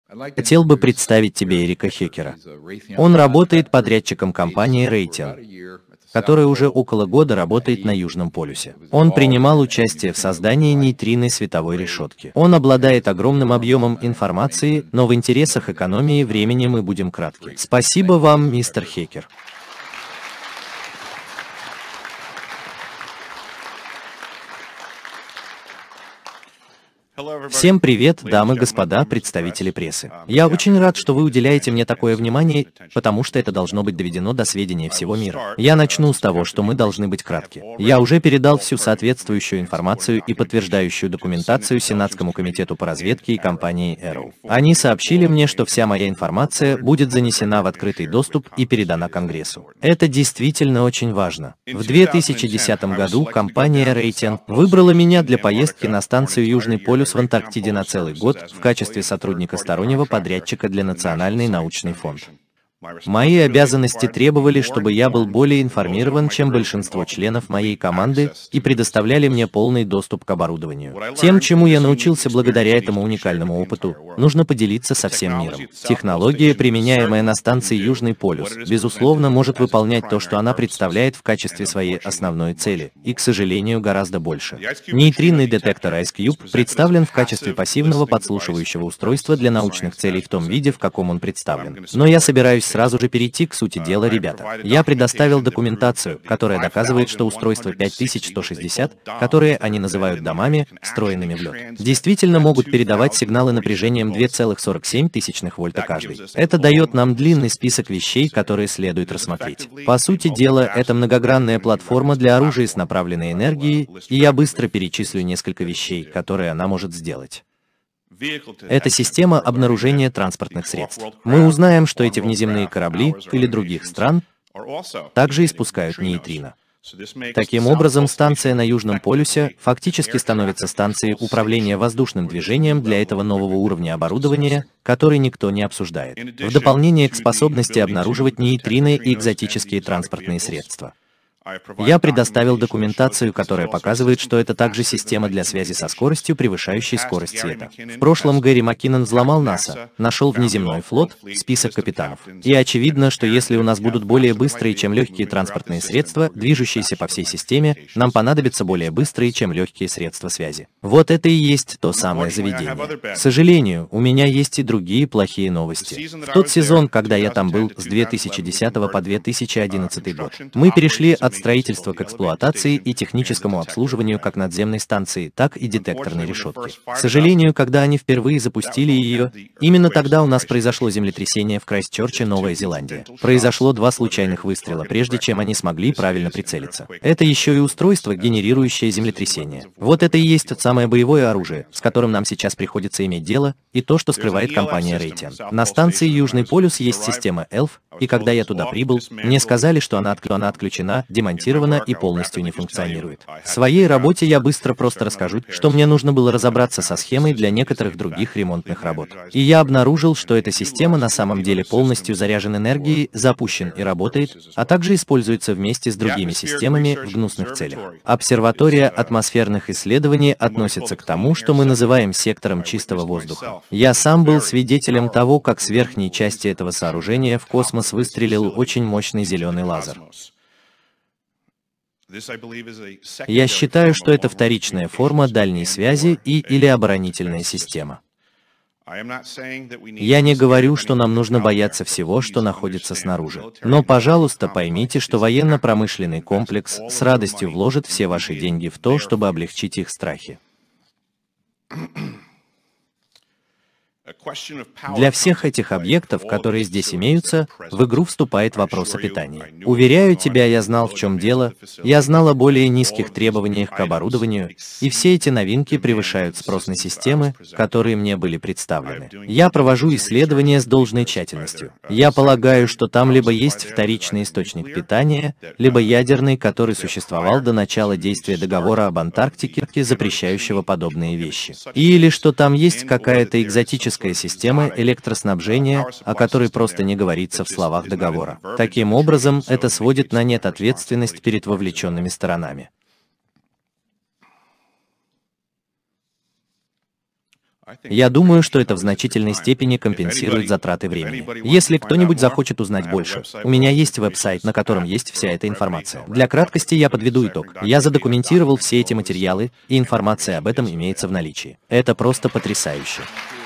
Хотел бы представить тебе Эрика Хекера. Он работает подрядчиком компании Raytheon, которая уже около года работает на Южном полюсе. Он принимал участие в создании нейтринной световой решетки. Он обладает огромным объемом информации, но в интересах экономии времени мы будем кратки. Спасибо вам, мистер Хекер. Всем привет, дамы и господа, представители прессы. Я очень рад, что вы уделяете мне такое внимание, потому что это должно быть доведено до сведения всего мира. Я начну с того, что мы должны быть кратки. Я уже передал всю соответствующую информацию и подтверждающую документацию Сенатскому комитету по разведке и компании Arrow. Они сообщили мне, что вся моя информация будет занесена в открытый доступ и передана Конгрессу. Это действительно очень важно. В 2010 году компания Raytheon выбрала меня для поездки на станцию Южный полюс в Антарктиде на целый год в качестве сотрудника стороннего подрядчика для Национальный научный фонд. Мои обязанности требовали, чтобы я был более информирован, чем большинство членов моей команды, и предоставляли мне полный доступ к оборудованию. Тем, чему я научился благодаря этому уникальному опыту, нужно поделиться со всем миром. Технология, применяемая на станции Южный полюс, безусловно, может выполнять то, что она представляет в качестве своей основной цели, и, к сожалению, гораздо больше. Нейтринный детектор IceCube представлен в качестве пассивного подслушивающего устройства для научных целей в том виде, в каком он представлен. Но я собираюсь сразу же перейти к сути дела, ребята. Я предоставил документацию, которая доказывает, что устройства 5160, которые они называют домами, встроенными в лед, действительно могут передавать сигналы напряжением 2,47 вольта каждый. Это дает нам длинный список вещей, которые следует рассмотреть. По сути дела, это многогранная платформа для оружия с направленной энергией, и я быстро перечислю несколько вещей, которые она может сделать. Это система обнаружения транспортных средств. Мы узнаем, что эти внеземные корабли или других стран также испускают нейтрино. Таким образом, станция на Южном полюсе фактически становится станцией управления воздушным движением для этого нового уровня оборудования, который никто не обсуждает, в дополнение к способности обнаруживать нейтрино и экзотические транспортные средства. Я предоставил документацию, которая показывает, что это также система для связи со скоростью, превышающей скорость света. В прошлом Гэри Маккинон взломал НАСА, нашел внеземной флот, список капитанов. И очевидно, что если у нас будут более быстрые, чем легкие транспортные средства, движущиеся по всей системе, нам понадобятся более быстрые, чем легкие средства связи. Вот это и есть то самое заведение. К сожалению, у меня есть и другие плохие новости. В тот сезон, когда я там был, с 2010 по 2011 год, мы перешли от строительства к эксплуатации и техническому обслуживанию как надземной станции, так и детекторной решетки. К сожалению, когда они впервые запустили ее, именно тогда у нас произошло землетрясение в Крайстчерче, Новая Зеландия. Произошло 2 случайных выстрела, прежде чем они смогли правильно прицелиться. Это еще и устройство, генерирующее землетрясение. Вот это и есть то самое боевое оружие, с которым нам сейчас приходится иметь дело, и то, что скрывает компания Raytheon. На станции Южный полюс есть система ELF, и когда я туда прибыл, мне сказали, что она отключена, демонтирована и полностью не функционирует. В своей работе я быстро просто расскажу, что мне нужно было разобраться со схемой для некоторых других ремонтных работ. И я обнаружил, что эта система на самом деле полностью заряжена энергией, запущен и работает, а также используется вместе с другими системами в гнусных целях. Обсерватория атмосферных исследований относится к тому, что мы называем сектором чистого воздуха. Я сам был свидетелем того, как с верхней части этого сооружения в космос выстрелил очень мощный зеленый лазер. Я считаю, что это вторичная форма дальней связи или оборонительная система. Я не говорю, что нам нужно бояться всего, что находится снаружи. Но, пожалуйста, поймите, что военно-промышленный комплекс с радостью вложит все ваши деньги в то, чтобы облегчить их страхи. Для всех этих объектов, которые здесь имеются, в игру вступает вопрос о питании. Уверяю тебя, я знал, в чем дело, я знал о более низких требованиях к оборудованию, и все эти новинки превышают спрос на системы, которые мне были представлены. Я провожу исследования с должной тщательностью. Я полагаю, что там либо есть вторичный источник питания, либо ядерный, который существовал до начала действия договора об Антарктике, запрещающего подобные вещи. Или что там есть какая-то экзотическая система электроснабжения, о которой просто не говорится в словах договора. Таким образом, это сводит на нет ответственность перед вовлеченными сторонами. Я думаю, что это в значительной степени компенсирует затраты времени. Если кто-нибудь захочет узнать больше, у меня есть веб-сайт, на котором есть вся эта информация. Для краткости я подведу итог. Я задокументировал все эти материалы, и информация об этом имеется в наличии. Это просто потрясающе.